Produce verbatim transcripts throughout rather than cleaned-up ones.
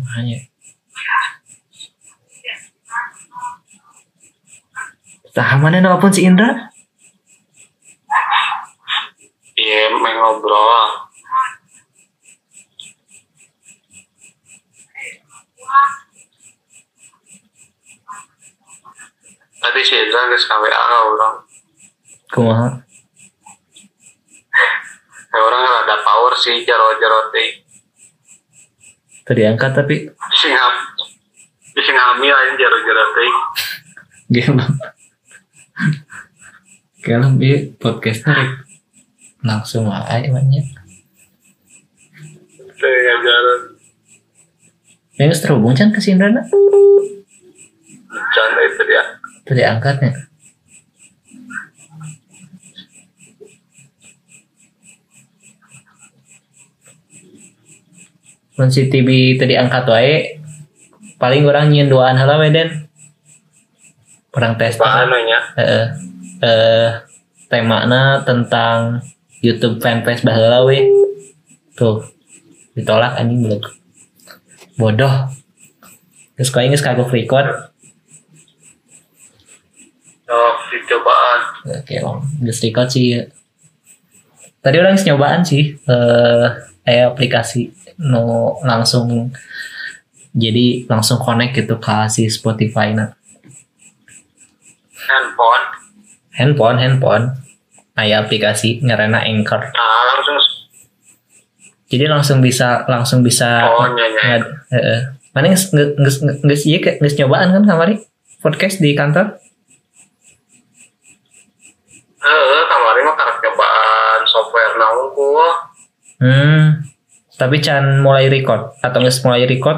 hanya tah mana nelpon si Indra? Iya, main ngobrol. Tadi si Indra geus ka W A ka urang. Kumaha? Ya orang rada power sih jaro-jaro teh. Tadi angkat tapi Sing ham. Sing hamil aja jaro-jaro teh. gimana? Kalau bi podcastnya rek langsung aja banyak. Teh ngajaran. Yang terhubung kan ke si Indra na? Canda itu dia. Tadi angkatnya. Mun si T V tadi angkat wae paling orang nyin duaan heula we Den. Orang tes. Apaan nya? Heeh. Eh temana tentang YouTube fanpage baheula we. Tuh. Ditolak anjing belum. Bodoh. Geus koe geus kagok record. Oh, dicobaan. Oke, long. Geus record sih. Tadi orang geus nyobaan sih eh eh aplikasi no langsung jadi langsung connect gitu ke si Spotify na. Handphone. Handphone, handphone. Aya aplikasi ngaranna Anchor. Nah, langsung. Jadi langsung bisa langsung bisa Oh, nyanyi. Heeh. Mana geus geus geus ieu geus nyobaan kan kamari podcast di kantor? Heeh, kamari mah karek cobaan software na unggul. Hmm. Tapi can mulai record atau geus mulai record?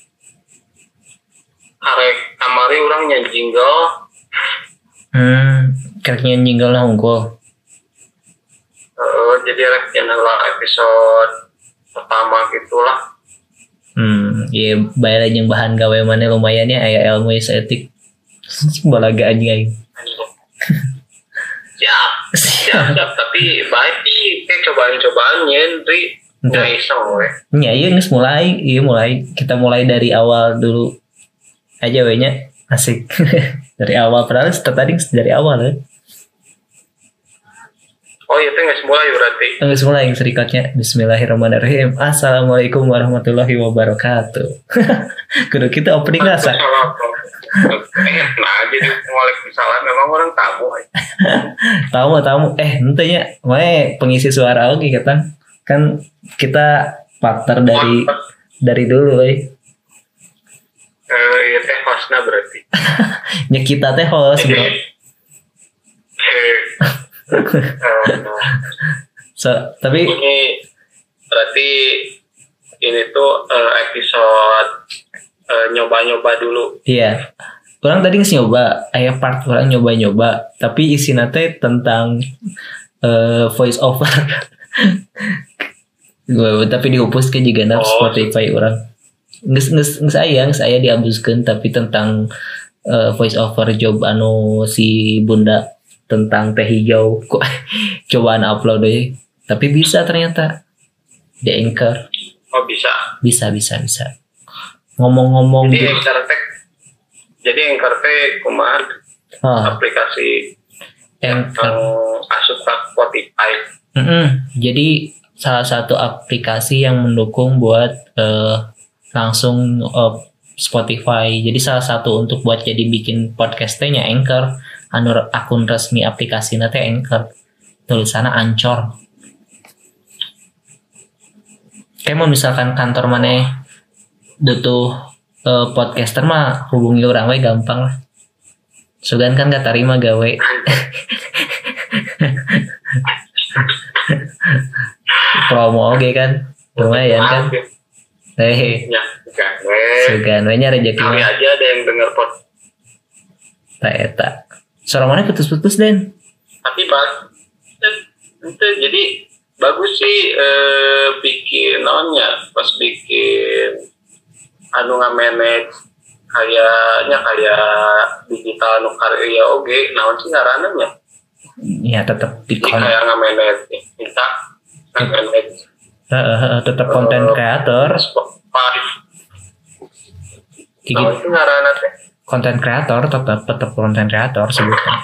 Karek kamari urang nya jingle. Hmm, kareknya jingle unggul. Heeh, jadi rek nya episode pertama gitulah. Hmm, iya bayar yang bahan gawe mana lumayan ya aya ilmu estetik. Balaga anjing aing. Siap, siap, siap. Tapi baik sih, kayak cobaan-cobaan nyendri. Nggak iseng weh. Ya iya geus mulai, iya mulai. Kita mulai dari awal dulu aja we nya. Asik. Dari awal padahal tadi dari awal ya. Oh iya, itu nggak mulai berarti. Geus mulai yang serikatnya. Bismillahirrahmanirrahim. Assalamualaikum warahmatullahi wabarakatuh. Kudu kita opening rasa. Eh, nah jadi waalaikumsalam memang orang tamu. Tamu tamu eh entenya wae pengisi suara oke kita kan kita partner dari dari dulu eh. Eh, iya teh hostnya berarti. Ya kita teh host bro. Eh, So, tapi ini berarti ini tuh uh, episode uh, nyoba-nyoba dulu. iya. Orang tadi nggak nyoba, aya part orang nyoba-nyoba, tapi isinya teh tentang uh, voice over. Gue tapi dihapus ke juga naf Spotify orang. Nges nges nges aya nges aya dihapuskan tapi tentang uh, voice over job anu si Bunda tentang teh hijau. Kok cobaan upload deh. Tapi bisa ternyata di Anchor. Oh bisa. Bisa bisa bisa. Ngomong-ngomong jadi gitu. Anchor teh jadi Anchor teh kumaha Ah, aplikasi Anchor. yang asup ke Spotify. Mm-mm. Jadi salah satu aplikasi yang mendukung buat eh, langsung uh, Spotify. Jadi salah satu untuk buat jadi bikin podcastnya Anchor. Anu akun resmi aplikasi nanti Anchor. Tulisannya Ancor. Kayak mau misalkan kantor mana butuh uh, podcaster mah hubungi orang we gampang lah. Sugan kan gak tarima gawe. Promo oke kan lumayan kan. Hehe. Ya, kan. Sugan we nya rezeki Kali mah. aja ada yang denger pod. Tak eta. Suara mana putus-putus Den? Tapi pas itu jadi bagus sih eh, bikin naonnya pas bikin anu ngamanage kayaknya kayak digital nu karya oge naon sih ngaranna Ya tetap di Jadi kayak ngamanage kita ngamanage uh, tetap konten kreator. Spotify Kayak Nah, gitu. itu ngaranna teh. Konten kreator tetap tetap konten kreator sebutnya.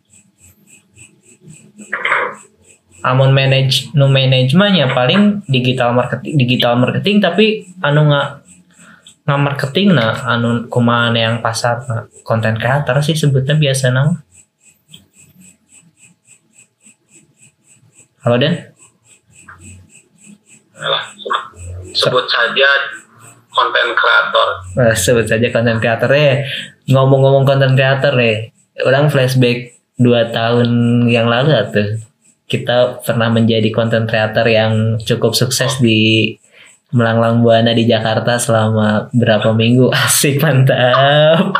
Amun manage no manajemennya paling digital marketing digital marketing tapi anu nggak nggak marketing nah anu kumaha yang pasar nah. Konten kreator sih sebutnya biasa nang. Halo Den. Alah, sebut saja konten kreator. Nah, sebut saja konten kreator ya. Ngomong-ngomong konten kreator ya. Orang flashback dua tahun yang lalu tuh. Kita pernah menjadi konten kreator yang cukup sukses di melanglang buana di Jakarta selama berapa minggu. Asik, mantap.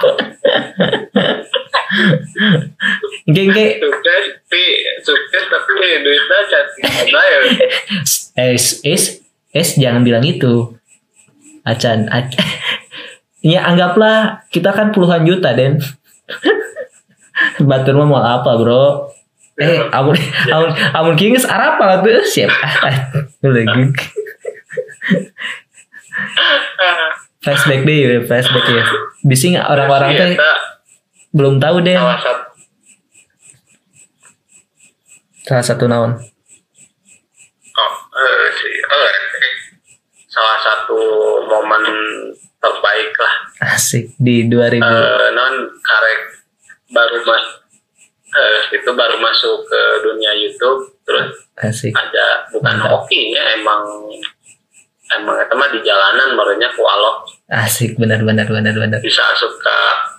Geng-geng. Sukses, tapi sukses tapi duitnya cantik mana ya? Es, es, es jangan bilang itu. Acan, ac- ya anggaplah kita kan puluhan juta Den. Batur mah mau apa bro? Eh, amun amun amun kingis apa tuh siap. Lagi. Flashback deh, ya, flashback ya. Bisa nggak orang-orang tuh belum tahu deh. Salah satu Salah satu naon. oh, eh, sih, eh, salah satu momen terbaik lah. Asik di dua ribu. Eh, non karek baru mas eh, itu baru masuk ke dunia YouTube terus Asik. ada bukan Mantap. hokinya emang emang itu mah di jalanan barunya ku alok Asik benar benar benar benar. bisa asup ke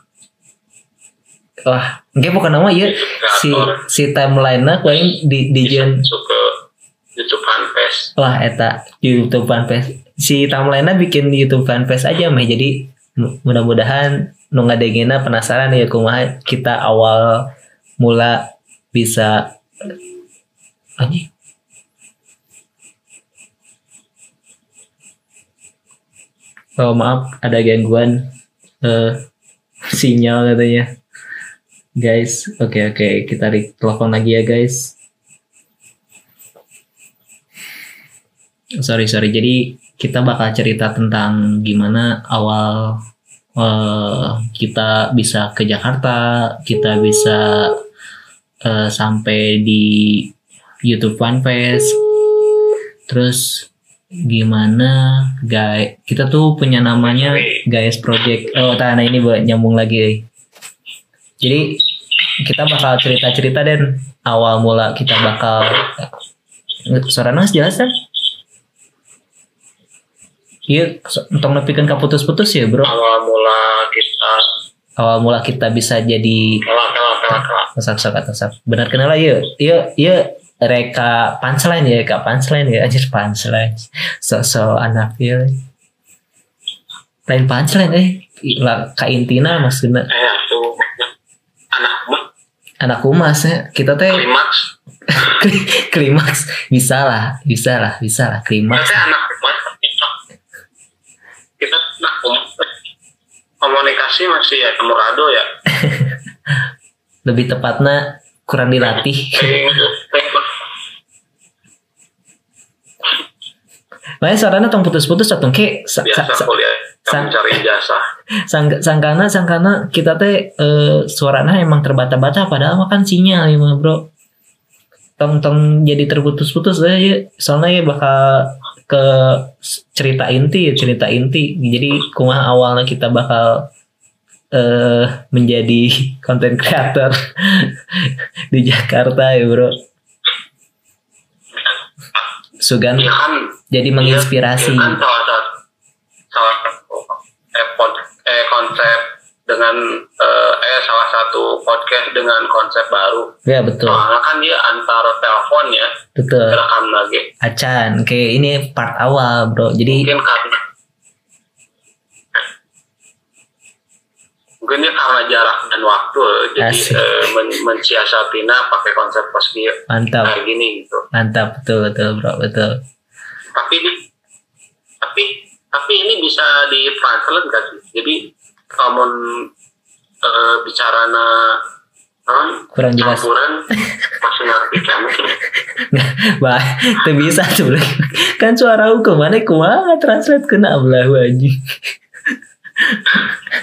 Wah, enggak bukan nama ya si si timeline-na paling di di bisa jen. masuk ke YouTube fanpage. Wah, eta YouTube fanpage. Si timeline-na bikin YouTube fanpage aja mah jadi mu- mudah-mudahan nu ngadengina penasaran ya kumaha kita awal mula bisa anjing. Oh maaf ada gangguan eh, sinyal katanya guys. Oke oke kita di telepon lagi ya guys. Sorry sorry jadi kita bakal cerita tentang gimana awal eh, kita bisa ke Jakarta, kita bisa eh, sampai di YouTube fanpage, terus gimana guys kita tuh punya namanya guys project. Oh tanah ini buat nyambung lagi. Jadi kita bakal cerita-cerita dan awal mula kita bakal suara nas jelas kan? Iya, untuk nepikeun ka putus-putus ya bro. Awal mula kita Awal mula kita bisa jadi kelak kelak kelak kelak. sok-sok atau sok. Benar kenal iya. Iya iya reka punchline ya, kak punchline ya anjir punchline. So-so anak ya. Lain punchline eh lah ka intina maksudna. Eh tuh anak mah Anak humas ya. Kita teh klimaks. klimaks bisa lah, bisa lah, bisa lah klimaks. Kita anak mah kita anak mah komunikasi masih ya temurado ya. Lebih tepatnya kurang dilatih. Makanya suaranya tong putus-putus atau ke sa, sa, Biasa sa, kuliah sang- mencari jasa. sang, sangkana sangkana kita teh eh, suaranya emang terbata-bata padahal mah kan sinyal ya mah bro. Tong tong jadi terputus-putus deh ya. Soalnya ya bakal ke cerita inti cerita inti. Jadi kumaha awalnya kita bakal eh menjadi konten kreator di Jakarta ya bro. Sugan Iya kan jadi menginspirasi. Iya kan salah satu salah satu eh, pod- eh, konsep dengan eh, eh salah satu podcast dengan konsep baru. Ya betul, Soalnya kan dia antara telepon ya betul. rekam lagi. Acan, kayak ini part awal bro. Jadi Mungkin karena mungkin dia karena jarak dan waktu jadi Asik. eh, men- mensiasatina pakai konsep poski mantap, kayak gini gitu. mantap betul betul bro betul. Tapi di, tapi tapi ini bisa di translate gak sih? Jadi kamu eh, bicara na non Kurang jelas. campuran masih ngerti kamu. Bah, itu bisa tuh bro. Kan suara aku kemana kumaha translate kena belah anjing.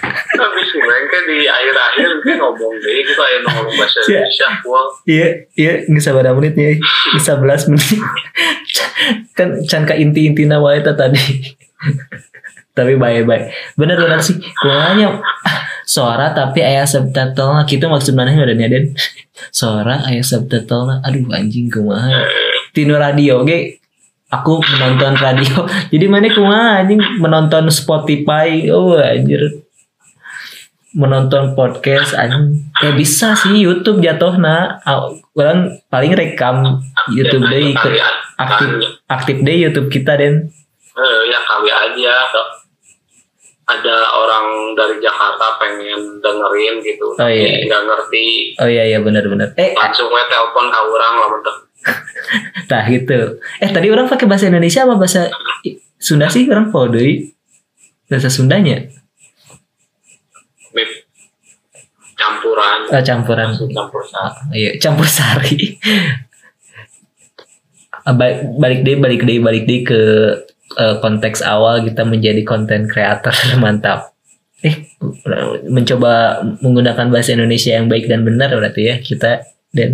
di akhir-akhir kan ngomong deh gitu ayo ngomong bahasa Indonesia gua. Iya, iya geus sabaraha menit ya? Geus sebelas menit. Kan can ka inti-intina wae eta tadi. Tapi baik-baik. Bener-bener sih. Kumaha suara tapi aya subtitle gitu maksudnya badannya Den. Suara aya subtitle. Aduh anjing kumaha. Tinu radio ge aku menonton radio. Jadi mana kumaha anjing menonton Spotify. Oh anjir. Menonton podcast anjing. Ya bisa sih YouTube jatuhna. Orang paling rekam YouTube deh ikut aktif aktif deh YouTube kita Den. Eh ya kali aja. Ada orang dari Jakarta pengen dengerin gitu, oh, iya. nggak ngerti. Oh iya iya benar-benar. Eh langsung gue telepon ke orang lah bentar. Nah gitu. Eh tadi orang pakai bahasa Indonesia apa bahasa Sunda sih orang podoi bahasa Sundanya? Campuran. Oh, campuran. Campur sari. Oh, iya campur sari. balik deh balik deh balik deh ke Uh, konteks awal kita menjadi content creator. Mantap. Eh mencoba menggunakan bahasa Indonesia yang baik dan benar berarti ya kita dan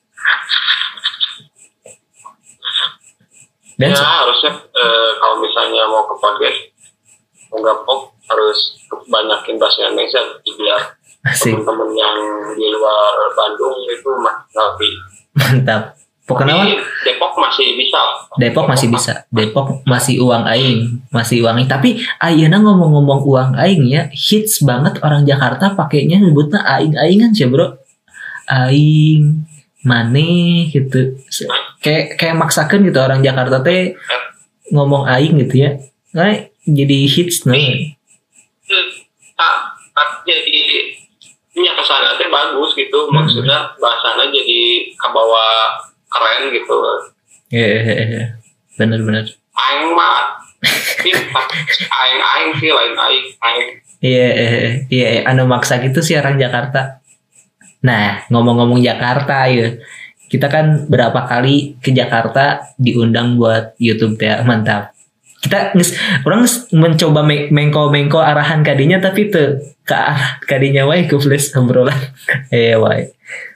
dan ya harusnya uh, kalau misalnya mau ke podcast mau gapok harus banyakin bahasa Indonesia biar teman-teman yang di luar Bandung itu ngerti. Mantap. Pokoknya Depok masih bisa. Depok masih bisa. Depok masih uang aing, masih uang aing. Tapi ayeuna ngomong-ngomong uang aing ya, hits banget orang Jakarta pakainya nyebutnya aing-aingan sih, Bro. Aing, maneh gitu. Kayak kayak maksakeun gitu orang Jakarta teh ngomong aing gitu ya. Nah, jadi hits nah. Jadi punya kesana teh bagus gitu. Maksudnya bahasanya jadi kebawa keren gitu. Iya, yeah, yeah, benar-benar. Aing mah, aing aing sih lain aing aing. Iya, iya, anu maksa gitu sih orang Jakarta. Nah, ngomong-ngomong Jakarta ya, kita kan berapa kali ke Jakarta diundang buat YouTube ya, mantap. Kita nges, orang mencoba mengko-mengko arahan kadinya tapi tuh ke arah kadinya wae ke flash obrolan. Eh wae.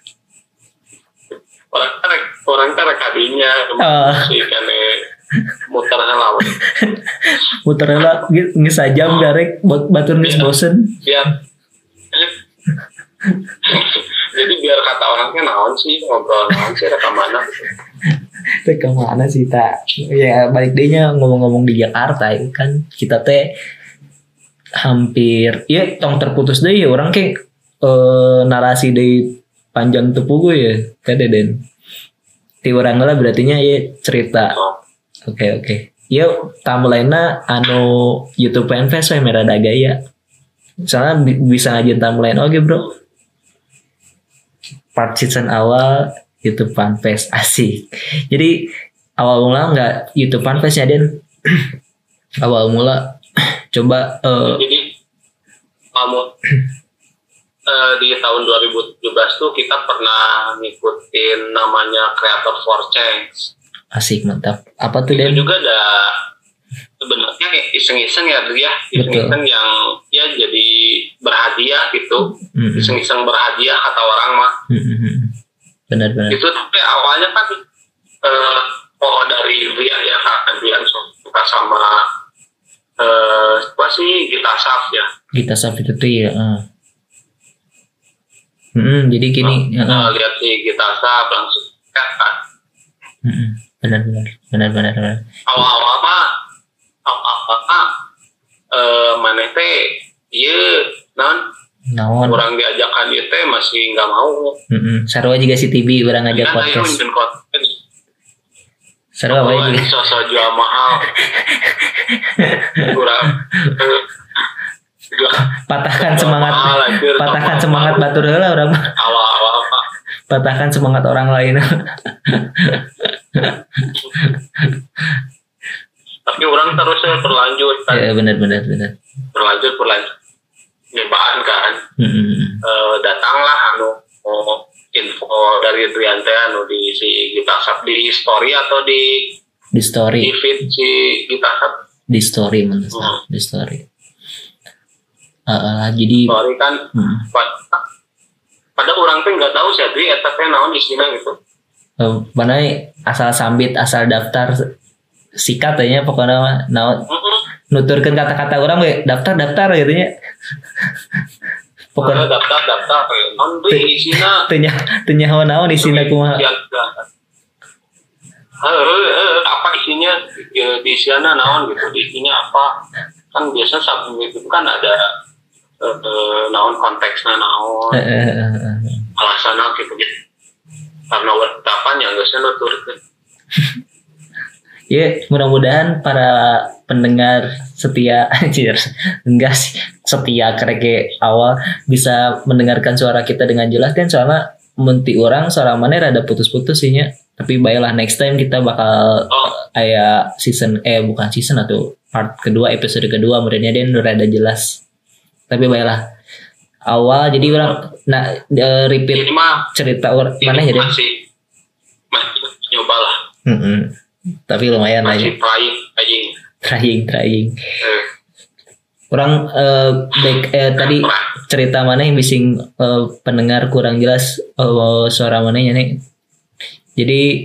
Orang kan orang kan kadinya oh. Si kene muter lawan. Muter lah geus sajam garek batur geus bosen. Biar jadi biar kata orangnya naon sih ngobrol naon sih ke mana teh ke mana sih tak ya balik deh nya ngomong-ngomong di Jakarta ya kan kita teh hampir ya tong terputus deh ya orang kayak eh, narasi dari panjang tepugu ya kade den ti urang lah berartinya ya cerita oke oke okay. Yuk tamu lainnya anu YouTube fanfest we merada gaya soalnya bi- bisa ngajin tamu lain oke okay, bro part season awal YouTube fanfest asik jadi awal mula nggak YouTube fanfest ya den awal mula coba uh, jadi kamu uh, di tahun dua ribu tujuh belas tuh kita pernah ngikutin namanya Creator for Change. Asik mantap. Apa tuh itu Den? juga ada sebenarnya iseng-iseng ya dia iseng-iseng yang ya jadi berhadiah gitu mm-hmm. iseng-iseng berhadiah kata orang mah mm-hmm. benar-benar itu tapi awalnya kan uh, oh dari dia ya kan dia suka sama uh, apa sih Gita Saf ya Gita Saf itu tuh ya uh. mm-hmm. jadi gini uh, uh. lihat si Gita Saf langsung kan mm-hmm. benar-benar benar-benar awal-awal mah awal-awal mah uh, mana teh iya non naon orang diajakan ieu teh masih nggak mau heeh sarua juga si T B urang ngajak podcast sarua wae juga sosok jual mahal kurang patahkan semangat patahkan semangat batur heula urang awal-awal mah patahkan semangat orang lain. Tapi orang terusnya berlanjut kan. Ya benar-benar benar. Berlanjut berlanjut. Nyobaan kan. Mm-hmm. E, datanglah anu oh, info dari Driante anu di si Gita Saf di story atau di di story. Di feed si Gita Saf. Di story mana? Hmm. Di story. Uh, jadi sorry kan hmm. pada, pada orang tuh nggak tahu sih jadi eta teh naon isina gitu. Uh, mana asal sambit asal daftar sikat aja pokoknya naon mm-hmm. nuturkan kata-kata orang we daftar daftar gitu nya. Pokoknya daftar daftar naon deui isina teu nya teu nyaho naon isina kumaha. Heeh apa isinya di sana naon gitu isinya apa kan biasa sabun itu kan ada uh, naon konteksnya naon alasan gitu gitu karena wetapan yang gak usah nuturkeun. Ya mudah-mudahan para pendengar setia anjir enggak sih setia kereke awal bisa mendengarkan suara kita dengan jelas dan soalnya menti orang suara mana rada putus-putus sih nya. Tapi baiklah next time kita bakal oh. aya season eh bukan season atau part kedua episode kedua muridnya dia udah ada jelas. Tapi baiklah awal jadi orang nah uh, repeat mah, cerita orang mana jadi masih nyoba lah. Mm-hmm. Tapi lumayan masih aja. Trying, trying, trying, trying. Eh. Orang uh, baik eh, tadi cerita mana yang bising uh, pendengar kurang jelas uh, suara mananya nih. Jadi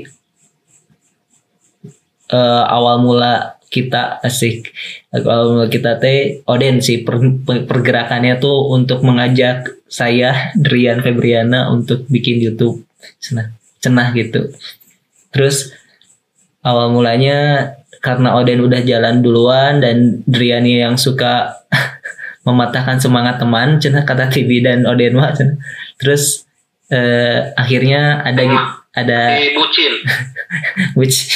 uh, awal mula kita asik awal mula kita teh Oden sih per, per, pergerakannya tuh untuk mengajak saya Drian Febriana untuk bikin YouTube cenah cenah gitu. Terus awal mulanya karena Oden udah jalan duluan dan Drian yang suka mematahkan semangat teman cenah kata T V dan Oden mah cenah. Terus uh, akhirnya ada gitu ada bucin which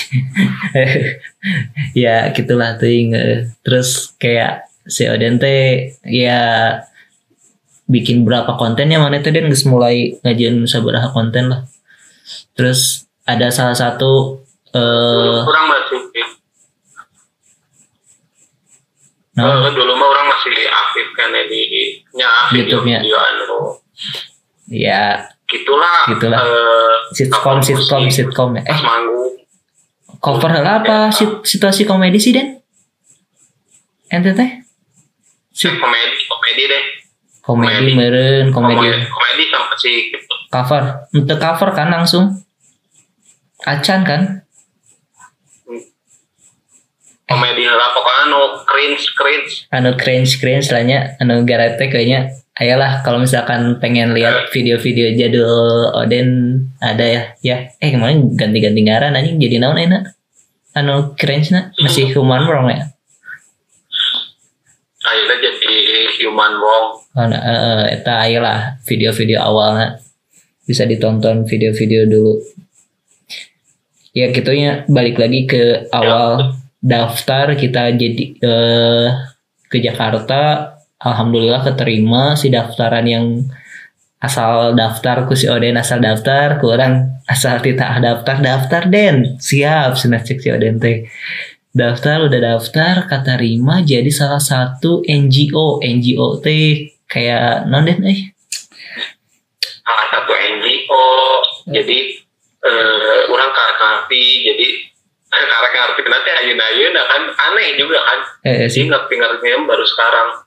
ya gitulah tuh terus kayak si Oden teh ya bikin berapa konten ya mana tuh dan geus mulai ngajian sabaraha konten lah. Terus ada salah satu uh, kurang masih no? uh, dulu mah orang masih aktif kan di nya video-video anu ya gitulah gitulah uh, sitcom sitcom sitcom eh manggung cover hal apa ya. Situasi komedi sih Den ente teh komedi komedi deh komedi meren komedi komedi sama sih gitu. Cover untuk cover kan langsung acan kan komedi lah pokoknya anu cringe cringe anu cringe cringe lahnya anu garate kayaknya ayolah kalau misalkan pengen lihat video-video jadul Oden ada ya ya eh kemarin ganti-ganti ngaran anjing jadi naon enak anu cringe na masih human wrong ya ayolah jadi human wrong oh, nah, uh, eta ayolah video-video awalnya bisa ditonton video-video dulu ya gitunya balik lagi ke awal ya. Daftar kita jadi uh, ke Jakarta. Alhamdulillah keterima si daftaran yang asal daftar ku si Oden asal daftar kurang asal tidak daftar daftar Den siap cenah cek si Oden teh daftar udah daftar keterima jadi salah satu N G O N G O teh kayak non Den eh salah satu N G O jadi uh, orang ngerti jadi karena ngerti nanti ayeuna-ayeuna kan aneh juga kan eh, sih ngerti-ngertinya baru sekarang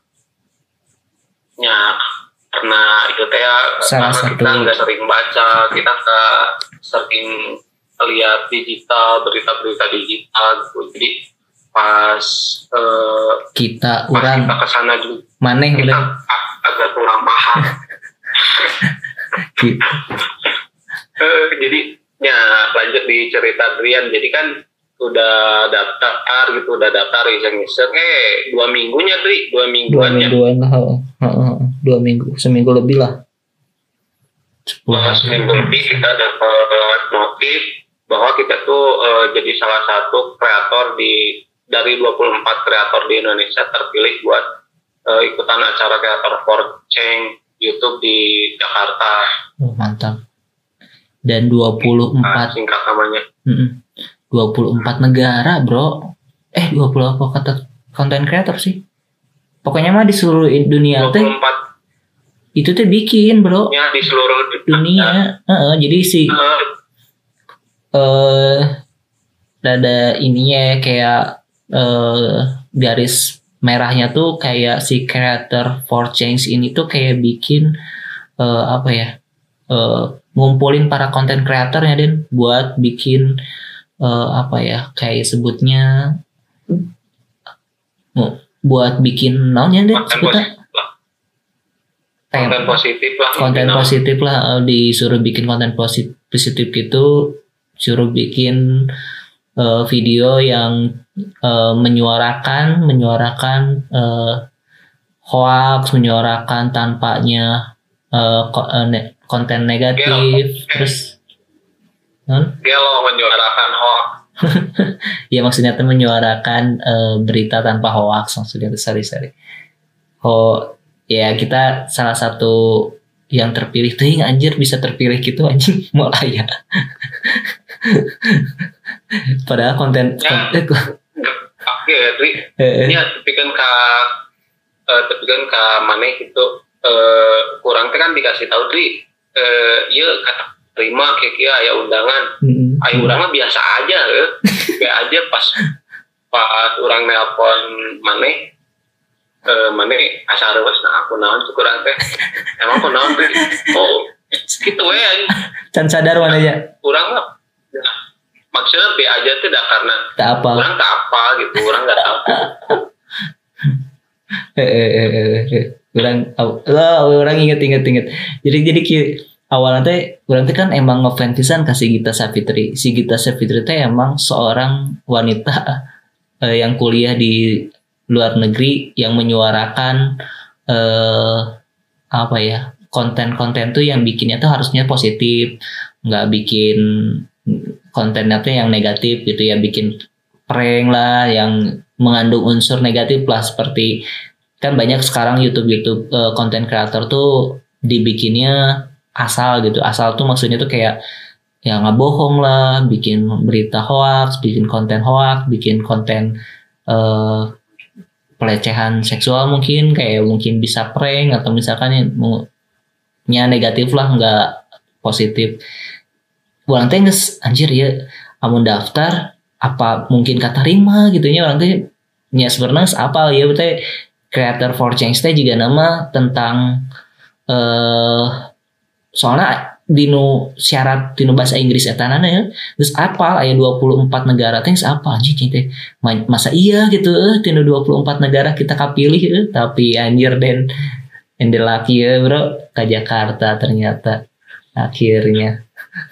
ya karena itu teh salah karena satu kita nggak sering baca kita nggak sering lihat digital berita-berita digital gitu. Jadi pas uh, kita pas orang kita kesana juga maneh kita ag- agak kurang paham gitu. uh, jadi ya lanjut di cerita Drian jadi kan udah daftar gitu udah daftar iseng-iseng eh dua minggunya Dri dua mingguan dua mingguan lah uh, dua minggu seminggu lebih lah nah, seminggu lebih kita dapat notif bahwa kita tuh uh, jadi salah satu kreator di dari dua puluh empat kreator di Indonesia terpilih buat uh, ikutan acara kreator for Change YouTube di Jakarta. Oh, mantap. Dan dua puluh empat nah, singkat namanya. dua puluh empat negara, Bro. Eh, dua puluh apa kata konten kreator sih? Pokoknya mah di seluruh dunia teh. dua puluh empat itu tuh bikin, Bro. Ya, di seluruh dunia. Heeh, uh, jadi si eh uh, uh, ada ininya kayak uh, garis merahnya tuh kayak si creator for change ini tuh kayak bikin uh, apa ya uh, ngumpulin para content creator ya Den buat bikin uh, apa ya kayak sebutnya uh, buat bikin naonnya Den sebutnya konten positif lah konten positif lah uh, disuruh bikin konten positif positif gitu suruh bikin uh, video yang uh, menyuarakan menyuarakan uh, hoax menyuarakan tampaknya uh, konten negatif Gelo. Terus non Gelo menyuarakan hoax ya maksudnya tuh menyuarakan uh, berita tanpa hoax maksudnya tuh sorry sorry oh ya kita salah satu yang terpilih tuh anjir bisa terpilih gitu anjing mulai ya padahal konten ya, oke Dri ini tapi kan ka uh, tapi kan ka mana gitu uh, kurang kan dikasih tahu Dri uh, iya kata terima kayak kia ya undangan mm-hmm. ayo undangan biasa aja ya kayak aja pas pas orang nelpon mana Uh, mana asal harus nah aku naon kurang teh emang aku naon teh oh gitu ya can sadar mana ya kurang lah ya. Maksudnya be aja tuh dah karena tak apa orang tak apa gitu orang nggak tahu eh eh eh orang oh, orang inget inget inget jadi jadi awalnya teh orang teh kan emang ngefans pisan kasih Gita Savitri si Gita Savitri teh emang seorang wanita eh, yang kuliah di luar negeri yang menyuarakan eh, apa ya konten-konten tuh yang bikinnya tuh harusnya positif nggak bikin kontennya tuh yang negatif gitu ya bikin prank lah yang mengandung unsur negatif lah seperti kan banyak sekarang YouTube YouTube konten kreator tuh dibikinnya asal gitu asal tuh maksudnya tuh kayak ya nggak bohong lah bikin berita hoax bikin konten hoax bikin konten eh, pelecehan seksual mungkin kayak mungkin bisa prank atau misalkan yang negatif lah nggak positif. Orang teh geus anjir ya amun daftar apa mungkin katarima gitu nya orang teh nya sebenarnya apa ya betul creator for change teh juga nama tentang eh soalnya dinu syarat dinu bahasa Inggris etanana ya terus apa aya dua puluh empat negara teh apa anjing teh masa iya gitu eh dinu dua puluh empat negara kita kapilih eh tapi anjir den endelaki ya bro ke Jakarta ternyata akhirnya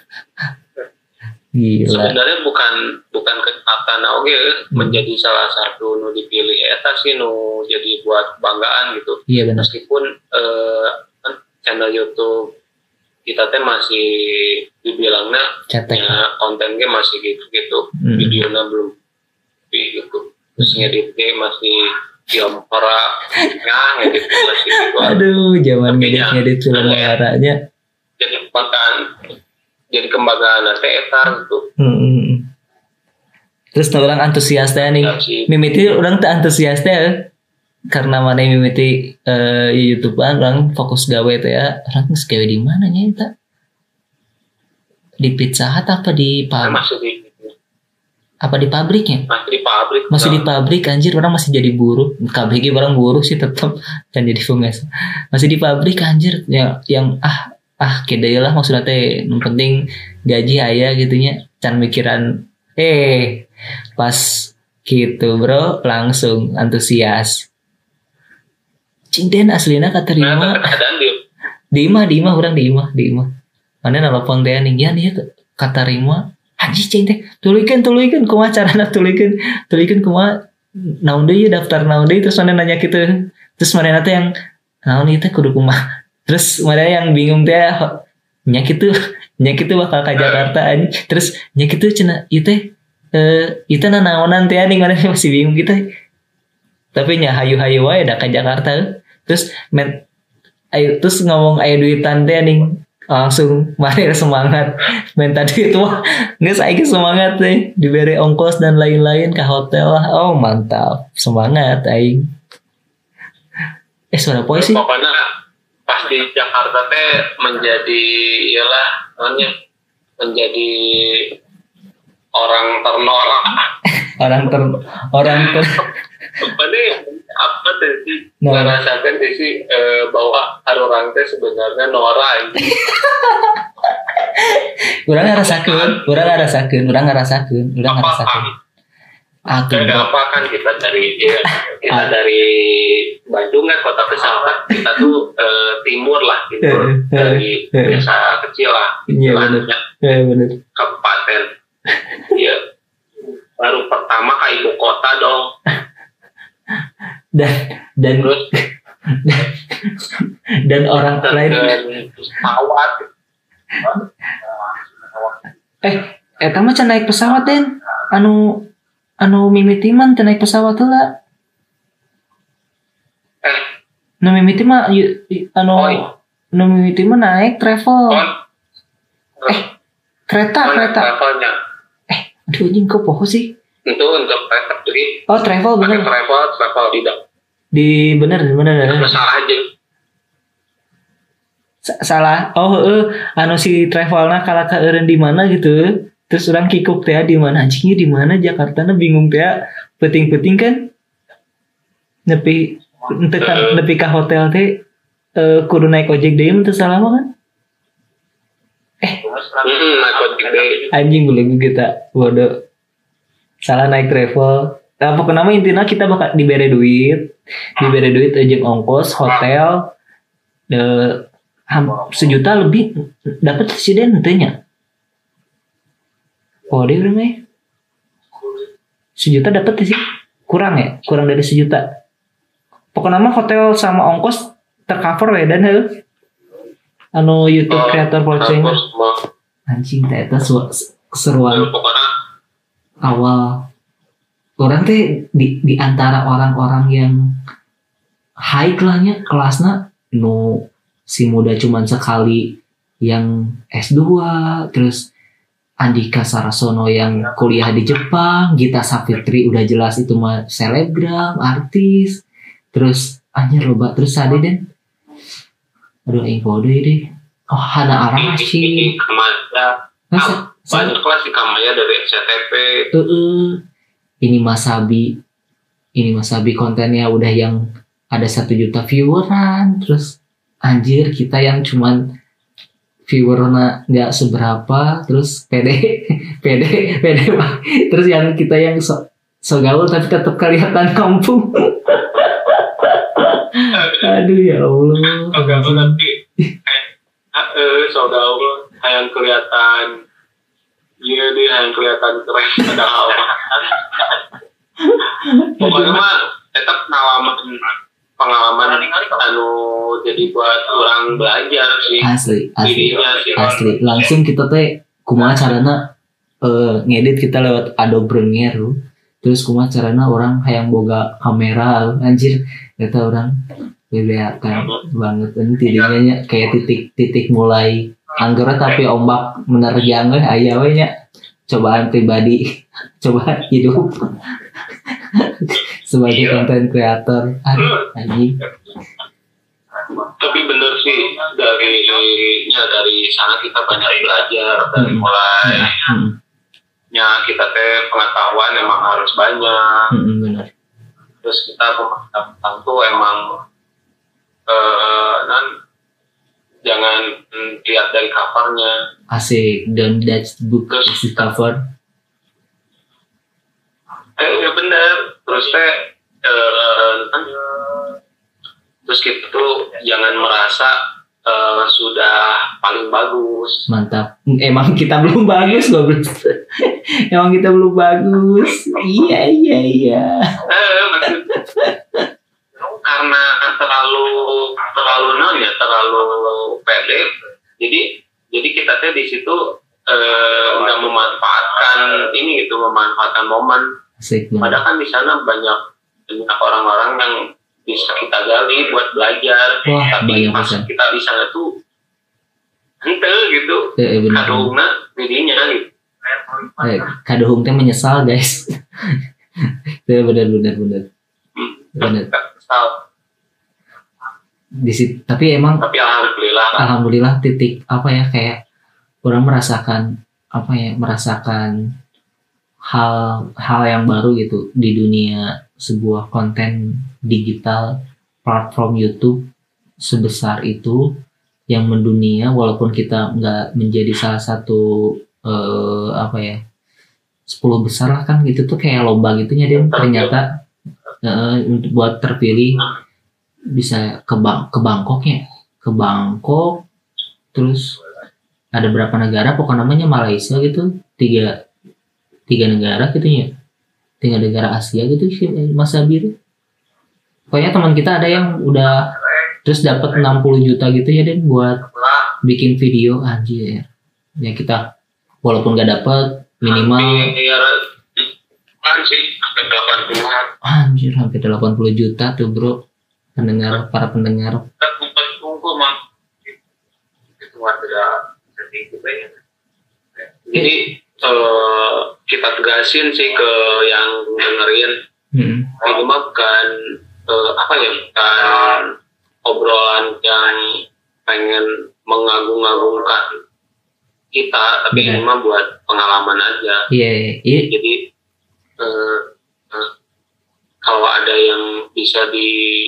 gila sebenarnya bukan bukan kesempatan oke hmm. menjadi salah satu nu dipilih eta sih nu jadi buat banggaan gitu iya benar meskipun eh, channel YouTube kita teh masih dibilangnya ya, kontennya masih gitu-gitu hmm. videonya belum gitu terus ngeditnya masih diampara ya ngedit masih gitu aduh zaman ngedit-ngedit film warnanya jadi konten jadi kembangan teh etar gitu hmm. terus orang antusias teh nih mimiti orang teh antusias teh karena mana mimiti uh, YouTubean orang fokus gawe teh ya orang geus gawe di mana nya eta di Pizza Hut apa di pabrik masih di apa di pabriknya masih di pabrik masih di pabrik anjir orang masih jadi buruh K B G orang buruh sih tetap dan jadi fungas masih di pabrik anjir yang yang ah ah kede lah maksudnya teh yang penting gaji aya gitunya can mikiran eh pas gitu bro langsung antusias cinden aslina katerima di imah di imah orang di imah di imah mana nelpon teh nih ya nih katerima haji cing teh tulikeun tulikeun kumaha carana tulikeun tulikeun kumaha naon deui daftar naon deui terus mana nanya kitu terus mana teh yang naon ieu teh kudu kumaha terus mana yang bingung teh nya kitu nya kitu bakal ka Jakarta anjing terus nya kitu cenah ieu teh eh ieu teh naonan teh anjing mana masih bingung gitu tapi nya hayu-hayu wae da ka Jakarta terus men ayo terus ngomong ayo duitan teh anjing langsung mari semangat minta duit wah geus aing semangat teh diberi ongkos dan lain-lain ke hotel lah oh mantap semangat aing eh suara poe sih pokoknya pas di Jakarta teh menjadi iyalah namanya menjadi orang ternolak orang ter orang ter apa nih apa teh sih no. Ngerasakan teh sih eh, bahwa orang teh sebenarnya Nora orang ngerasakeun orang ngerasakeun orang ngerasakeun orang ngerasakeun aku apa kan kita dari ya, kita ah. dari Bandung kan kota pesawat kita tuh eh, timur lah timur dari desa kecil lah iya benar iya benar kabupaten ya baru pertama ke ibu kota dong dan dan terus dan orang lain pesawat eh eta mah can naik pesawat Den anu anu mimitiman teu naik pesawat heula eh nu mimiti mah anu Oi. nu mimiti mah naik travel Oi. eh kereta Oi, kereta travelnya eh aduh anjing kok poho sih itu untuk travel jadi oh travel bener travel travel tidak di bener bener bener salah aja S- salah oh eh anu si travelna kala ka eureun di mana gitu terus orang kikuk teh di mana anjingnya di mana Jakarta na bingung teh peting-peting kan nepi ente kan nepi ka hotel teh uh, kudu naik ojek deui teh salah mah kan eh hmm, naik ojek deui anjing boleh kita bodoh salah naik travel nah, pokoknya mah intinya kita bakal diberi duit diberi duit ojek ongkos hotel de ham, sejuta lebih dapat presiden tentunya oh dia berapa ya sejuta dapat sih kurang ya kurang dari sejuta pokoknya mah hotel sama ongkos tercover ya dan heuh anu YouTube creator vloging anjing teh eta keseruan awal orang teh di di antara orang-orang yang high lahnya kelasnya no si muda cuman sekali yang S dua terus Andika Sarasono yang kuliah di Jepang, Gita Savitri udah jelas itu mah selebgram, artis. Terus anjir loba terus ada Den. Aduh aing kode deh. Oh Hana Arashi. Kamaya. Banyak kelas di Kamaya dari S C T V. Heeh. Ini Mas Sabi. Ini Mas Sabi kontennya udah yang ada satu juta vieweran. Terus anjir kita yang cuman viewernya nggak seberapa terus pede pede pede terus yang kita yang so, so gaul tapi tetap kelihatan kampung aduh ya Allah agak nanti eh so gaul yang kelihatan iya deh yang kelihatan keren padahal pokoknya mah tetap pengalaman pengalaman anu jadi buat orang belajar sih asli asli sih, asli langsung kita teh kumaha carana uh, ngedit kita lewat Adobe Premiere terus kumaha carana orang hayang boga kamera anjir eta orang beleakan banget ini tidinya kayak titik-titik mulai anggere tapi ombak menerjang we aya we nya cobaan pribadi cobaan hidup sebagai konten kreator anjing tapi bener sih dari ya dari sana kita banyak belajar dari hmm. mulai hmm. ya kita teh pengetahuan emang harus banyak hmm, benar. Terus kita pengetahuan tuh emang eh, nan jangan lihat dari covernya asik don't judge the book terus the cover eh ya bener terus teh eh, terus kita tuh jangan merasa uh, sudah paling bagus. Mantap. Emang kita belum bagus loh. Emang kita belum bagus. Iya iya iya. Eh, maksud, karena terlalu terlalu non ya terlalu pede. Jadi jadi kita tuh di situ nggak uh, memanfaatkan ini gitu memanfaatkan momen. Asik, padahal kan di sana banyak banyak orang-orang yang bisa kita gali buat belajar. Wah, tapi pas bisa. kita di sana tuh ente gitu eh, kadohungna dirinya gitu eh, kadohung teh menyesal guys. Itu benar benar benar benar di situ tapi emang tapi alhamdulillah alhamdulillah titik apa ya kayak orang merasakan apa ya merasakan hal hal yang baru gitu di dunia sebuah konten digital platform YouTube sebesar itu yang mendunia, walaupun kita nggak menjadi salah satu eh, apa ya sepuluh besar lah kan gitu tuh kayak lomba gitunya Dan ternyata eh, untuk buat terpilih bisa ke Bang ke Bangkok ya ke Bangkok terus ada berapa negara pokoknya namanya Malaysia gitu tiga tiga negara gitu ya tiga negara Asia gitu sih Mas Sabir. Pokoknya teman kita ada yang udah terus dapat enam puluh juta gitu ya Dan buat bikin video anjir. Ya kita walaupun gak dapat minimal anjir hampir delapan puluh juta tuh bro pendengar para pendengar. Jadi uh, kita tegasin sih ke yang dengerin hmm. itu mah bukan uh, apa ya bukan obrolan yang pengen mengagung-agungkan kita tapi ini mah buat pengalaman aja. Iya. Yeah, yeah. Jadi uh, uh, kalau ada yang bisa di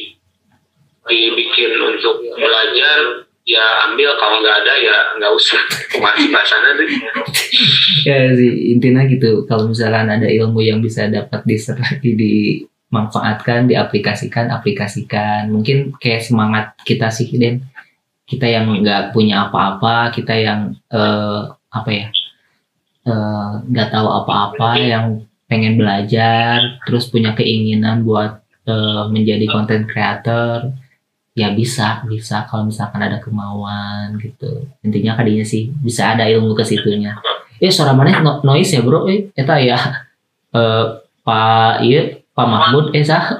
dibikin untuk belajar ya ambil, kalau nggak ada ya nggak usah. Masih bahasanya tuh. Ya sih intinya gitu. Kalau misalkan ada ilmu yang bisa dapat diserah dimanfaatkan, diaplikasikan, aplikasikan. Mungkin kayak semangat kita sih Den. Kita yang nggak punya apa-apa, kita yang uh, apa ya nggak uh, tahu apa-apa, yang pengen belajar, terus punya keinginan buat uh, menjadi content creator. Ya bisa, bisa kalau misalkan ada kemauan gitu. Intinya kadinya sih bisa ada ilmu ke situnya. Eh suara mana no, noise ya bro? Eh eta ya eh Pak iya Pak Mahmud eh sah.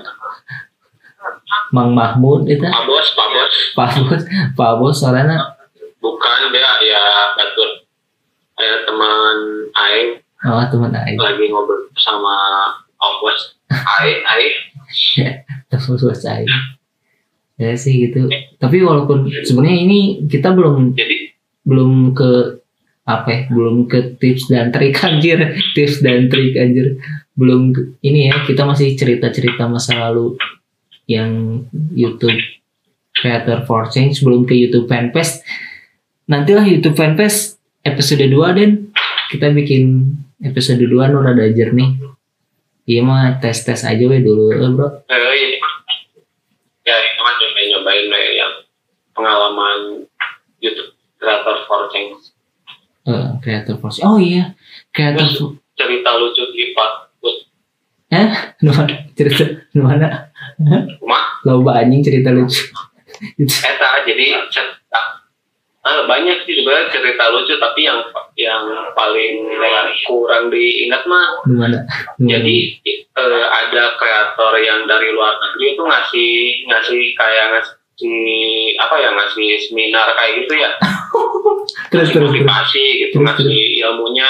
Mang Mahmud eta. Pak Bos, Pak Bos. Pak Bos, Pak Bos suaranya. Bukan dia ya batur. Ada teman Aing. Oh, teman Aing. Lagi ngobrol sama Om Bos. Aing, Aing. Teman Bos Aing. Ya sih gitu. Tapi walaupun sebenarnya ini kita belum Jadi, belum ke apa ya, belum ke tips dan trik anjir, tips dan trik anjir. Belum ke, ini ya, kita masih cerita-cerita masa lalu yang YouTube Creator for Change, belum ke YouTube Fanfest. Nantilah YouTube Fanfest episode dua Den. Kita bikin episode dua nu rada jernih. Iya mah tes-tes aja we dulu, eh, Bro. Eh, ini ya itu mah nyobain yang pengalaman YouTube Creator for Change. Uh, Creator for Change. Oh iya, Creator for... cerita lucu Ipat. Eh, mana cerita mana? Cuma loba anjing cerita lucu. Eta jadi cerita ah, banyak sih sebenarnya cerita lucu, tapi yang yang paling kurang diingat mah gimana? Jadi eh, ada kreator yang dari luar negeri itu ngasih ngasih kayak ngasih apa ya ngasih seminar kayak gitu ya. terus terus motivasi gitu terus, ngasih terus. ilmunya.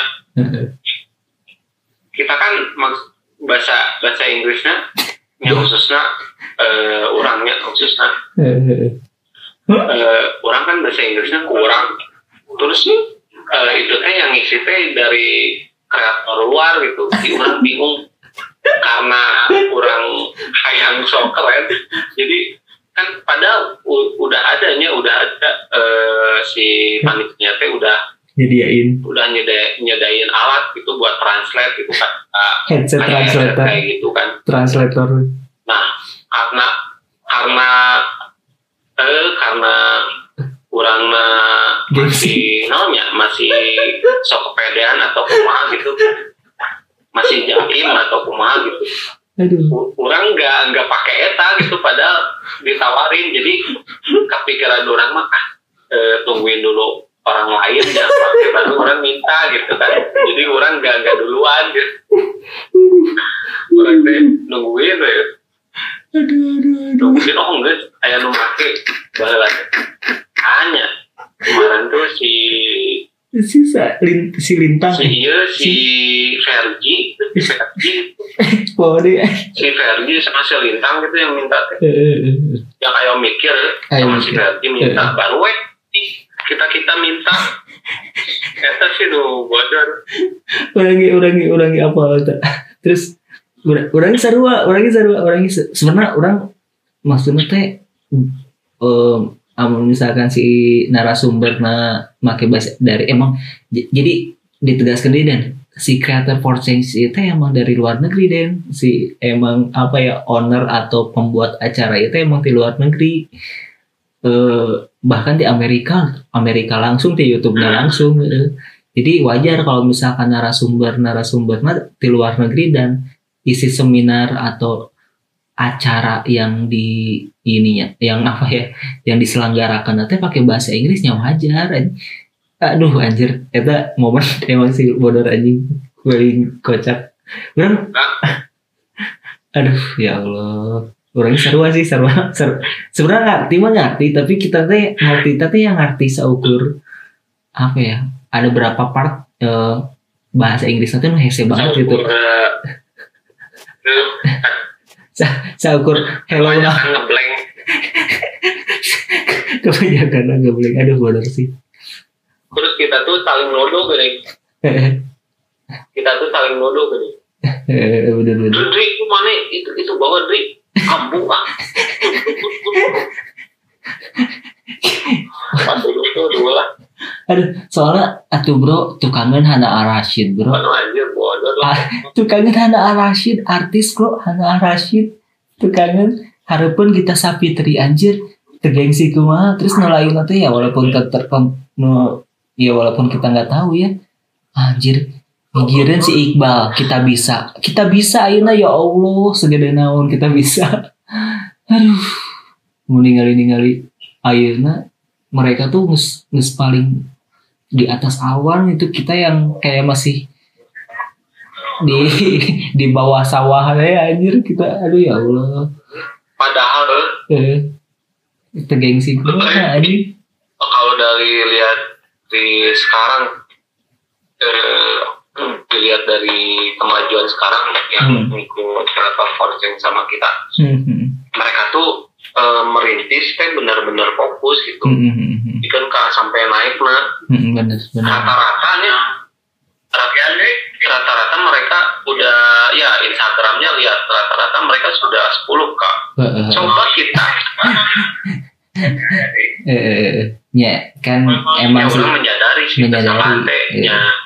Kita kan bahasa bahasa Inggrisnya yang khususnya uh, orangnya khususnya uh, orang kan bahasa Inggrisnya kurang, terus uh, itu teh yang ngisi teh dari kreator luar gitu, jadi orang bingung karena orang hayang so keren, jadi kan padahal u- udah adanya udah ada uh, si panitia teh udah nyediain udah nyeda, nyedain alat gitu buat translate gitu kan, uh, headset translator kayak gitu kan, translator. nah karena karena eh karena kurangnya masih namanya masih sok kepedean atau kumaha gitu, masih jaim atau kumaha gitu. Aduh. Orang nggak nggak pakai eta gitu, padahal ditawarin, jadi kepikiran orang mah eh, tungguin dulu orang lain ya pakai baru orang minta gitu kan, jadi orang nggak nggak duluan gitu, orang teh nungguin ya. Aduh, aduh, aduh. Nungguin oh enggak ayah nu make baheula hanya kemarin tuh si si lin, si lintang si iya si Fergie si Fergie oh dia si Fergie sama si Lintang gitu yang minta uh, uh, uh. yang ayo mikir sama si Fergie minta baru we kita kita minta Eta sih nu bodor. Urangi urangi urangi apa eta. Terus urangi sarua, urangi sarua, urangi sebenarnya orang maksudnya teh um, amun misalkan si narasumberna make bahasa dari emang j- jadi ditegaskan deh dan si creator for change itu emang dari luar negeri dan si emang apa ya owner atau pembuat acara itu emang di luar negeri. Uh, bahkan di Amerika Amerika langsung di YouTube-nya langsung uh. Jadi wajar kalau misalkan narasumber narasumbernya di luar negeri dan isi seminar atau acara yang di ininya yang apa ya yang diselenggarakan nanti pakai bahasa Inggrisnya wajar. Aduh anjir eta momen emang sih bodor anjing paling kocak. Orang aduh ya Allah. Orang seru sih seru, seru. Sebenarnya ngerti mah ngerti tapi kita teh ngerti tapi yang ngerti seukur apa ya ada berapa part uh, bahasa Inggris nanti nu hese banget gitu. Seukur hello nah ngeblank. Kebanyakan ngeblank aduh bodor sih. Terus kita tuh saling nodo gini. Kita tuh saling nodo gini. Eh bener bener. Dri itu mana itu itu bawa Dri. Kampung ah. Pasti itu dulu lah. Aduh, soalnya atuh bro, tukangan Hana Ar-Rasyid bro. Anu anjir bodoh lah. Tukangan Hana Ar-Rasyid, artis bro, Hana Ar-Rasyid. Tukangan harapun kita Sapitri anjir, tergengsi kumaha, terus nolain nanti ya walaupun ter no, ya walaupun kita nggak tahu ya. Anjir, mikirin si Iqbal, kita bisa, kita bisa ayeuna ya Allah, segede naon kita bisa. Aduh, mau ningali-ningali ayeuna mereka tuh nges, nges paling di atas awan itu kita yang kayak masih di di bawah sawah ya anjir kita aduh ya Allah. Padahal eh kita gengsi gimana anjir. Kalau dari lihat di sekarang eh, dilihat dari kemajuan sekarang yang hmm. ikut Creator for Change sama kita, hmm. mereka tuh uh, merintis kan benar-benar fokus gitu, hmm. ikan kan sampai naik nah, hmm, bener, bener. rata-ratanya, rata-rata mereka udah ya Instagramnya lihat rata-rata mereka sudah sepuluh k. Uh, Coba kita, eh, ya kan emang sih menyadari sih menyadari.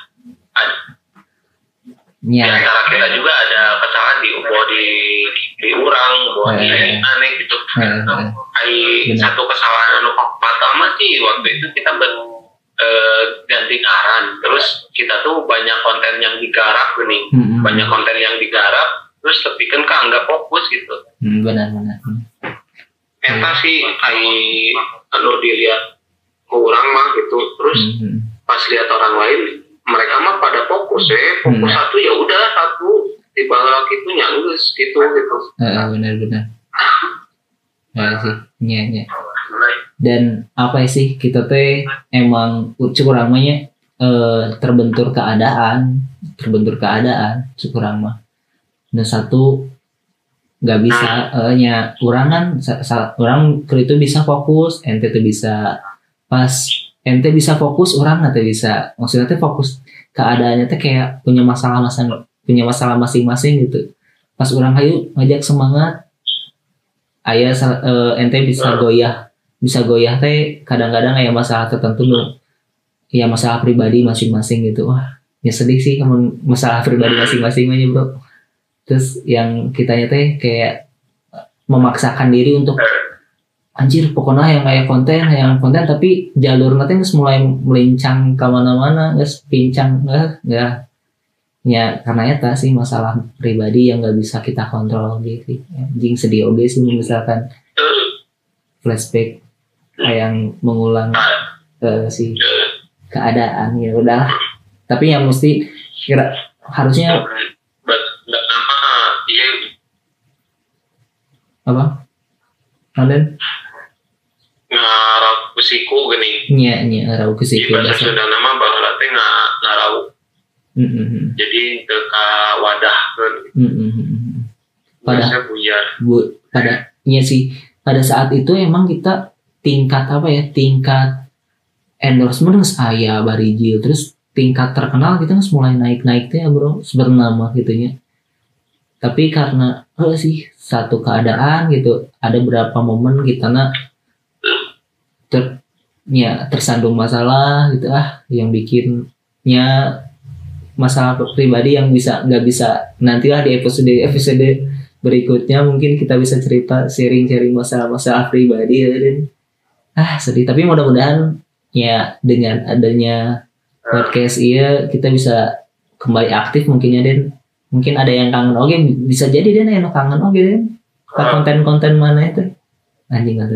Ya. Di antara kita juga ada kesalahan di ubo di di urang, buat eh, di aneh gitu. Eh, eh, satu kesalahan anu pertama sih waktu itu kita ber, eh, ganti ngaran, terus kita tuh banyak konten yang digarap nih, hmm, banyak konten yang digarap, terus tapi kan kan nggak fokus gitu. Hmm, benar-benar. Eta sih, ai anu dilihat kurang mah gitu, terus hmm. pas lihat orang lain mereka mah pada fokus ya, fokus hmm. satu ya udah satu di bawah itu nyanggus gitu gitu. Uh, benar-benar. Ya sih, nya nya. Dan apa sih kita teh emang curang mahnya uh, terbentur keadaan, terbentur keadaan curang mah. Dan satu nggak bisa uh, nya orang kan orang itu bisa fokus, ente tuh bisa pas ente bisa fokus orang nanti bisa maksudnya tuh fokus keadaannya tuh kayak punya masalah masing punya masalah masing-masing gitu pas orang hayu ngajak semangat ayah uh, ente bisa goyah bisa goyah teh kadang-kadang kayak masalah tertentu loh ya masalah pribadi masing-masing gitu wah ya sedih sih kamu masalah pribadi masing-masing aja bro terus yang kitanya teh kayak memaksakan diri untuk anjir pokoknya yang kayak konten yang konten tapi jalur nanti nggak mulai melincang kemana-mana nggak pincang nggak nggak ya karena itu sih masalah pribadi yang nggak bisa kita kontrol gitu anjing sedih oge sih misalkan flashback yang mengulang uh, si keadaan ya udah tapi yang mesti kira harusnya apa kalian ngarau kusiku gini. Iya, iya ngarau kusiku. Di bahasa Sunda nama bahasa teh ngarau. Mm-hmm. Jadi ke wadah kan. Mm-hmm. Pada buyar. Bu, pada iya sih. Pada saat itu emang kita tingkat apa ya? Tingkat endorsement harus aya barijil, terus tingkat terkenal kita harus mulai naik-naik teh ya bro, bernama gitunya. Tapi karena oh sih satu keadaan gitu, ada beberapa momen kita nak ter, ya, tersandung masalah gitu ah, yang bikinnya masalah pribadi yang bisa nggak bisa nantilah di episode episode berikutnya mungkin kita bisa cerita sharing-sharing masalah-masalah pribadi ya, dan ah sedih. Tapi mudah-mudahan ya dengan adanya podcast iya kita bisa kembali aktif mungkin ya Den. Mungkin ada yang kangen oke, bisa jadi Den yang kangen oke Den. Konten-konten mana itu? Anjing atau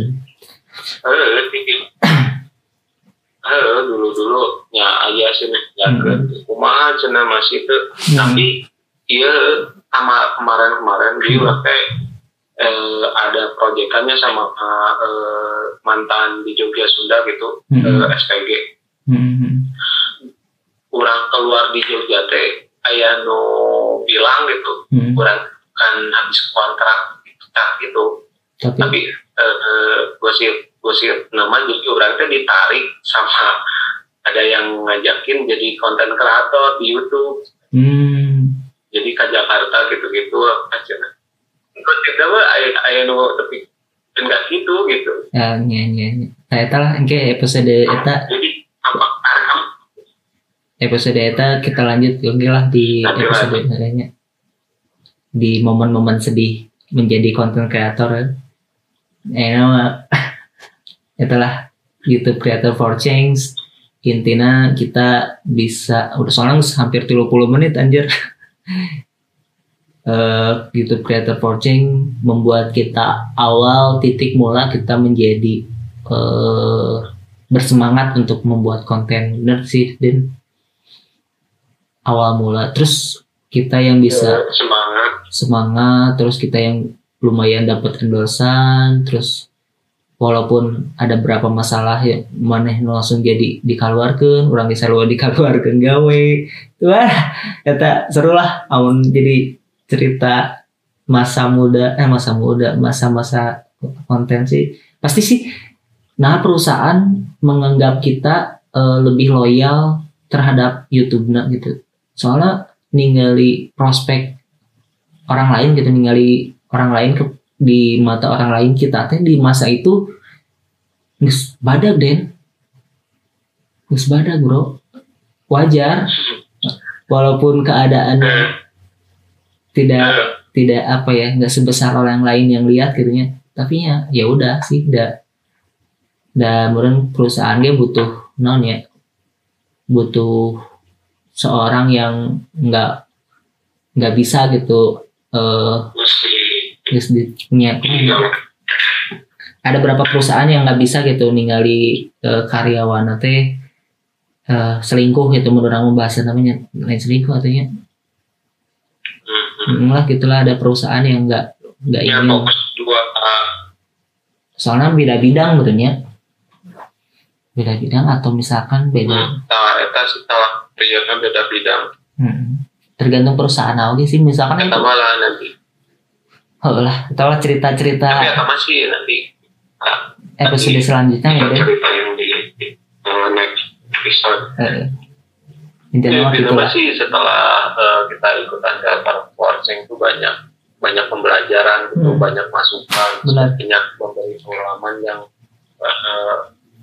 Halo, dulu-dulu ya aja sih nih, ya hmm. kumaha cenah masih itu. Hmm. Tapi iya sama kemarin-kemarin dia hmm. kayak eh, ada proyekannya sama eh, mantan di Jogja Sunda gitu, hmm. eh, S P G. Hmm. Orang keluar di Jogja teh aya nu bilang gitu, hmm. orang kan habis kontrak gitu. Tapi, Tapi eh, gue sih gue sih nama jadi orang teh ditarik sama ada yang ngajakin jadi konten kreator di YouTube. Hmm. Jadi ke Jakarta gitu-gitu aja. Kok tidak mah aya aya nu tapi enggak gitu gitu. Ya nya nya. Nah, eta lah engke episode eta. Jadi apa aram episode eta kita lanjut lagi lah di episode lainnya. Di momen-momen sedih menjadi konten kreator. Eh nama itulah YouTube Creator for Change. Intinya kita bisa udah soalnya hampir tiga puluh menit anjir. uh, YouTube Creator for Change membuat kita awal titik mula kita menjadi uh, bersemangat untuk membuat konten. Bener sih Den, awal mula terus kita yang bisa semangat semangat terus kita yang lumayan dapat endorsan, terus walaupun ada berapa masalah ya maneh langsung jadi dikeluarkan, orang bisa luar dikeluarkan gawe. Wah, kata seru lah amun jadi cerita masa muda eh masa muda, masa-masa konten sih. Pasti sih nah perusahaan menganggap kita uh, lebih loyal terhadap YouTube-na gitu. Soalnya ningali prospek orang lain gitu, ningali orang lain ke, di mata orang lain kita teh di masa itu geus badag Den, geus badag bro, wajar walaupun keadaannya tidak tidak apa ya nggak sebesar orang lain yang lihat gitunya, tapi ya ya udah sih dah dan mungkin perusahaannya butuh non ya butuh seorang yang nggak nggak bisa gitu uh, punya ada beberapa perusahaan yang nggak bisa gitu ningali uh, karyawan teh uh, selingkuh gitu, menurut orang membahas namanya lain selingkuh artinya mm-hmm. lah gitulah, ada perusahaan yang nggak nggak ya, ingin dua, uh... soalnya beda bidang betulnya beda bidang atau misalkan beda hmm, nah eta sih salah kan beda bidang hmm. tergantung perusahaan aja sih, misalkan eta malah nanti oh lah, atau cerita-cerita tapi ya masih nanti nah, episode nanti selanjutnya ya deh. Cerita yang di uh, next episode. Uh, Intinya ya, masih setelah uh, kita ikutan Creator for Change itu banyak banyak pembelajaran gitu, hmm. banyak masukan, benar. banyak memberi pengalaman yang uh,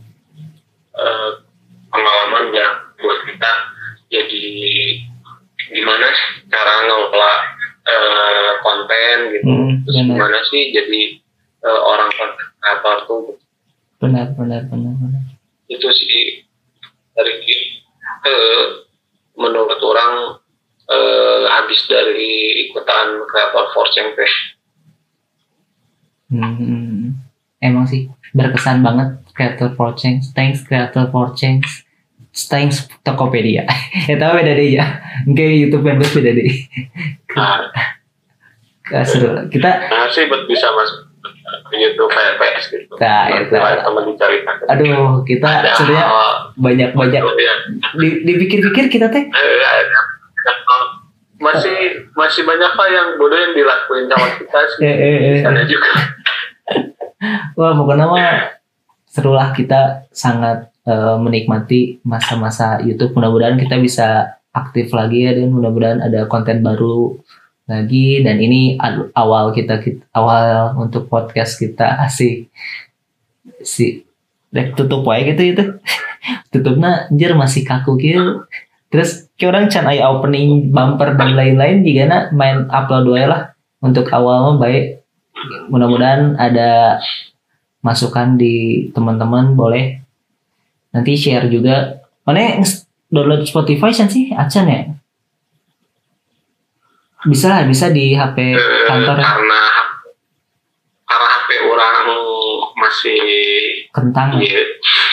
uh, pengalaman yang buat kita jadi gimana cara ngelola Uh, konten gitu, hmm, terus gimana sih jadi uh, orang konten kreator tuh benar benar benar benar itu sih dari uh, menurut orang uh, habis dari ikutan Creator for Change. Hmm, emang sih berkesan banget Creator for Change. Thanks Creator for Change. Thanks Tokopedia. Ya tahu beda deh ya. Mungkin YouTube members beda deh. Nah, seru. Kita nah sih buat bisa masuk YouTube P S gitu. Nah, itu. Teman diceritakan. Aduh, kita sebenarnya banyak-banyak di, dipikir-pikir kita teh. Masih masih banyak hal yang bodoh yang dilakuin sama kita sih. Eh, eh, eh. Ada juga. Wah, pokoknya mah serulah, kita sangat uh, menikmati masa-masa YouTube. Mudah-mudahan kita bisa aktif lagi ya, dan mudah-mudahan ada konten baru lagi. Dan ini awal kita, kita awal untuk podcast kita asik si dek tutup wae gitu itu tutupnya anjir masih kaku gitu. Terus kayak orang can aya opening bumper dan lain-lain juga na main upload wae lah untuk awal mah baik. Mudah-mudahan ada masukan di teman-teman, boleh nanti share juga. Mana download Spotify sih acan ya? Bisa lah, bisa di H P kantor ya. Karena karena H P orang masih kentang. Iya.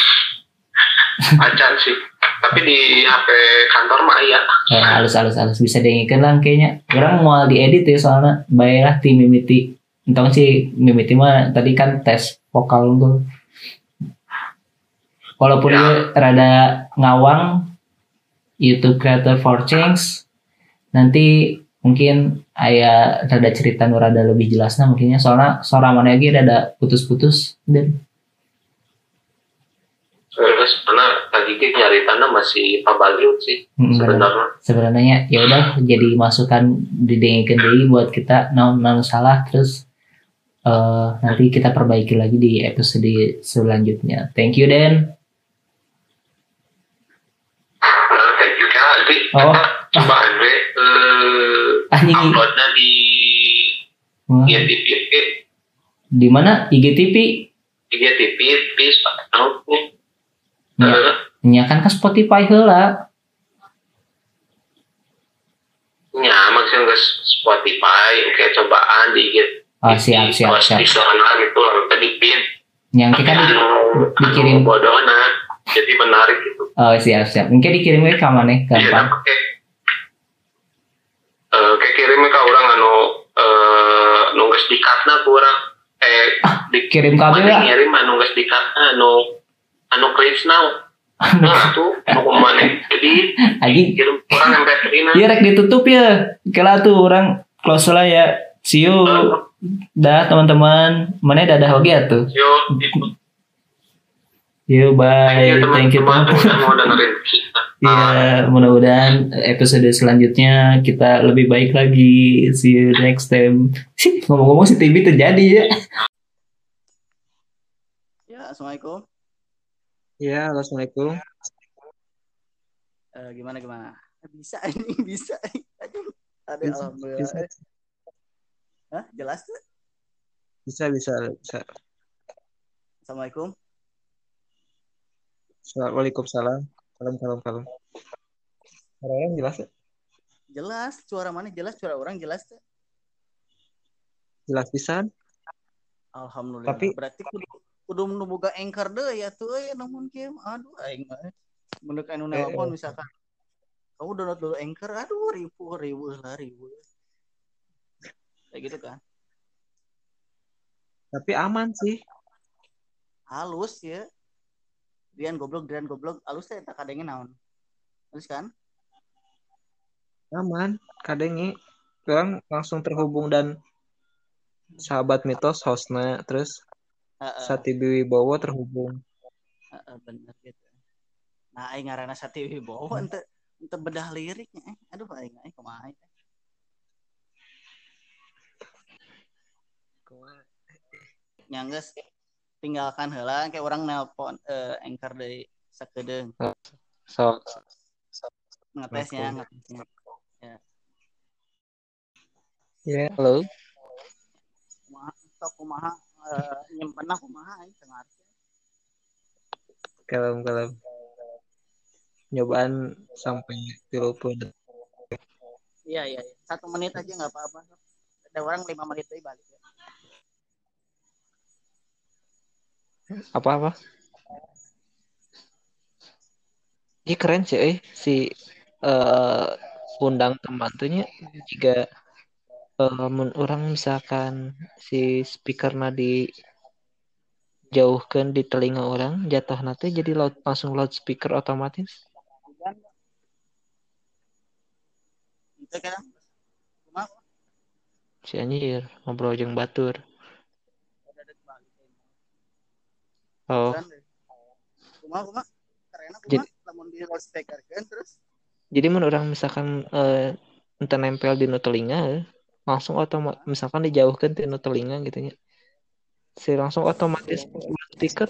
Acan sih. Tapi di H P kantor mah iya. Eh, halus-halus halus bisa dengerin lah kayaknya. Orang mau diedit ya soalnya baiklah tim mimiti. Entah sih mimiti mah tadi kan tes vokal tuh. Walaupun ya. Dia rada ngawang YouTube Creator for Change, nanti mungkin ayah rada cerita nu rada lebih jelasnya mungkinnya soalnya suara mana lagi rada putus-putus dan terus karena tadi kita nyari tanah masih pabaliut sih hmm, sebenarnya. Sebenarnya ya udah jadi masukan didengarkan deui buat kita naon naon salah, terus uh, nanti kita perbaiki lagi di episode selanjutnya. Thank you Den. Uh, thank you kan nanti oh. coba Andre uh, uploadnya di hmm. I G T V. Di mana I G T V? I G T V please tahu nih. Ya, uh, kan ke Spotify heula. Ya, maksudnya ke Spotify, kayak cobaan di I G T V. Oh, siap, siap, siap. Di sana gitu, lalu tadi pin. Yang kita di, dikirim bodohna, jadi menarik gitu. Oh, siap, siap. Mungkin dikirimnya ke mana nih? Gampang. Iya, kayak uh, kayak kirimnya ke orang anu uh, nunggu dikatna ku orang eh ah, dikirim kabel lah. Ngirim anu nunggu dikatna anu anu Krisna. Nah, tuh mau mana? Jadi Aji kirim orang yang Petrina. Iya, rek ditutup ya. Kela tuh orang close lah ya. See you. Uh, dah teman-teman. Mana dadah oge atuh. Yo. Yo, bye. Thank you teman-teman. Mau dengerin kita. Iya, mudah-mudahan episode selanjutnya kita lebih baik lagi. See you next time. Ngomong-ngomong si T V terjadi ya. Ya, assalamualaikum. Ya, assalamualaikum. Uh, gimana gimana? Bisa ini bisa. Aduh, ada alhamdulillah. Bisa. Hah, jelas tuh? Bisa bisa bisa. Assalamualaikum. Waalaikumsalam. Salam salam salam. Suara orang jelas ya? Jelas, suara mana jelas, suara orang jelas tuh. Jelas pisan. Alhamdulillah. Tapi berarti kudu kudu boga anchor deh ya tuh ya namun game. Aduh aing mah. Mun anu nelpon misalkan. Kamu download dulu anchor, aduh ribu ribu lah ribu. Kayak gitu kan. Tapi aman sih. Halus ya. Dian goblok, Dian goblok. Halus teh tak kadenge naon. Halus kan? Aman, kadenge orang langsung terhubung dan sahabat mitos hostnya terus uh, uh. Sati Wibowo terhubung. Uh, uh, bener gitu. Nah, aing ngaranna Sati Wibowo hmm. ente ente bedah liriknya. Eh, aduh aing aing kumaha. Nyangges tinggalkan heula kayak orang nelpon uh, anchor dari sakedeung. So, so ngetesnya, ngetesnya. Ya. Ya, yeah, halo. Kumaha sok kumaha uh, nyimpenna kumaha aing teu ngarti. Kalem-kalem. Nyobaan sampai tiga puluh detik. Iya, iya, iya. Satu menit aja enggak apa-apa. Ada orang lima menit aja balik ya. Apa-apa? Ini keren sih eh. si uh, undang teman tuhnya juga uh, orang misalkan si speaker di jauhkan di telinga orang jatuh nanti jadi loud, langsung loudspeaker otomatis. Itu kan? Si anjir ngobrol jeung batur. Oh. Kumaha kumaha? Jadi, lamun di loudspeaker kan terus. Jadi mun orang misalkan uh, ente nempel di nu telinga langsung otomatis misalkan dijauhkan di nu telinga gitu ya. Si langsung otomatis speaker.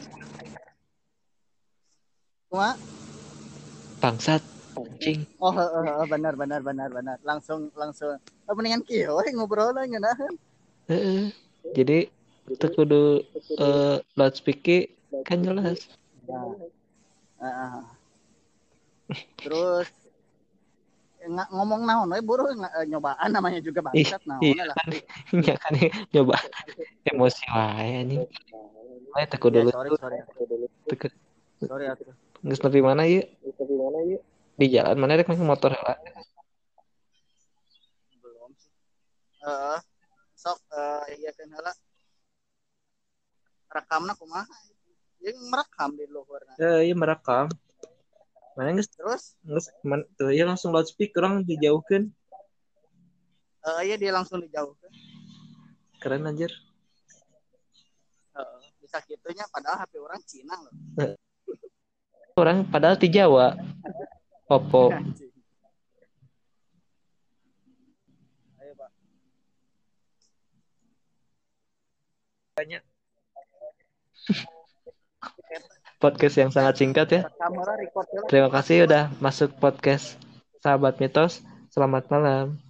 Cuma bangsat anjing. Oh, uh, uh, benar benar benar benar. Langsung langsung oh, mendingan kieu we ngobrol lah ngeunaheun. Heeh. Jadi teu kudu uh, loudspeaker kan jelas. Nah. Uh, terus ng- ngomong naon we buru ng- nyobaan namanya juga bangsat naon iya, lah. Kan, iya kan nyoba emosi wae anjing. Wae teu kudu Ya, sorry sorry. Teu Sorry atuh. Geus nepi mana ieu? Nepi mana ieu? Di jalan mana rek make motor heula. Belum sih. Heeh. Uh, sok uh, iya kan heula. Rekamna kumaha? Yang merekam di luarna. Eh, iya merekam. Mana geus terus? Geus man tuh ya langsung loudspeaker orang dijauhkeun. Eh uh, iya dia langsung dijauhkeun. Keren anjir. Uh, bisa gitunya padahal H P orang Cina loh. Orang padahal di Jawa. Oppo. Ayo, Pak. Banyak. Podcast yang sangat singkat ya. Terima kasih udah masuk podcast Sahabat Mitos. Selamat malam.